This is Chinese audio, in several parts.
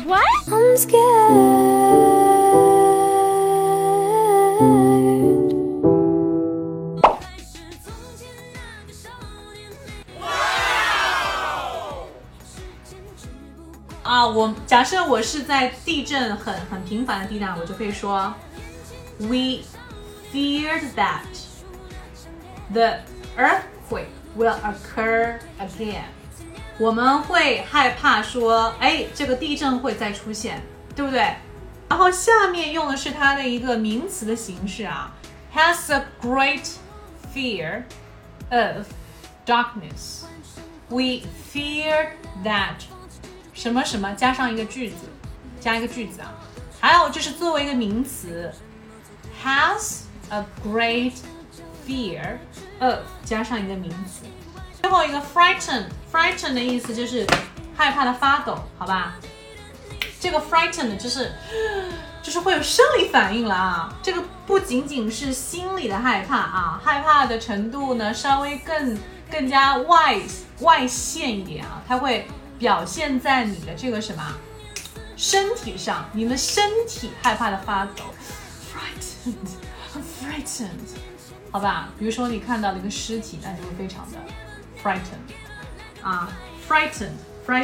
What? I'm scared. 假设我是在地震很频繁的地带，我就可以说 We feared that the earthquake will occur again. 我们会害怕说，这个地震会再出现，对不对？然后下面用的是它的一个名词的形式啊 ，has a great fear of darkness. We feared that 什么什么加上一个句子，加一个句子啊。还有就是作为一个名词 ，has a great fear of 加上一个名词。最后一个 frighten 的意思就是害怕的发抖，好吧？这个 frighten 就是会有生理反应了啊。这个不仅仅是心理的害怕啊，害怕的程度呢稍微更加外显一点啊，它会表现在你的这个什么身体上，你的身体害怕的发抖 frightened 好吧？比如说你看到了一个尸体，那就会非常的 frightened 啊 frightened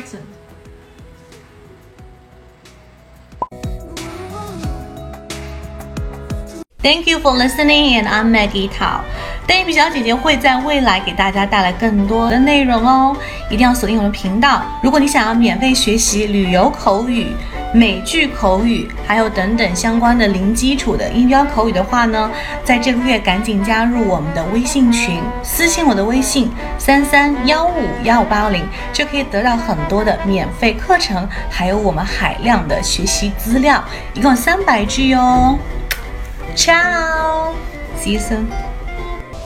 Thank you for listening, and I'm Maggie Tao. 邓一比小姐姐会在未来给大家带来更多的内容哦，一定要锁定我们的频道。如果你想要免费学习旅游口语、美剧口语，还有等等相关的零基础的音标口语的话呢，在这个月赶紧加入我们的微信群，私信我的微信33151580，就可以得到很多的免费课程，还有我们海量的学习资料，一共300句哦。Ciao! See you soon.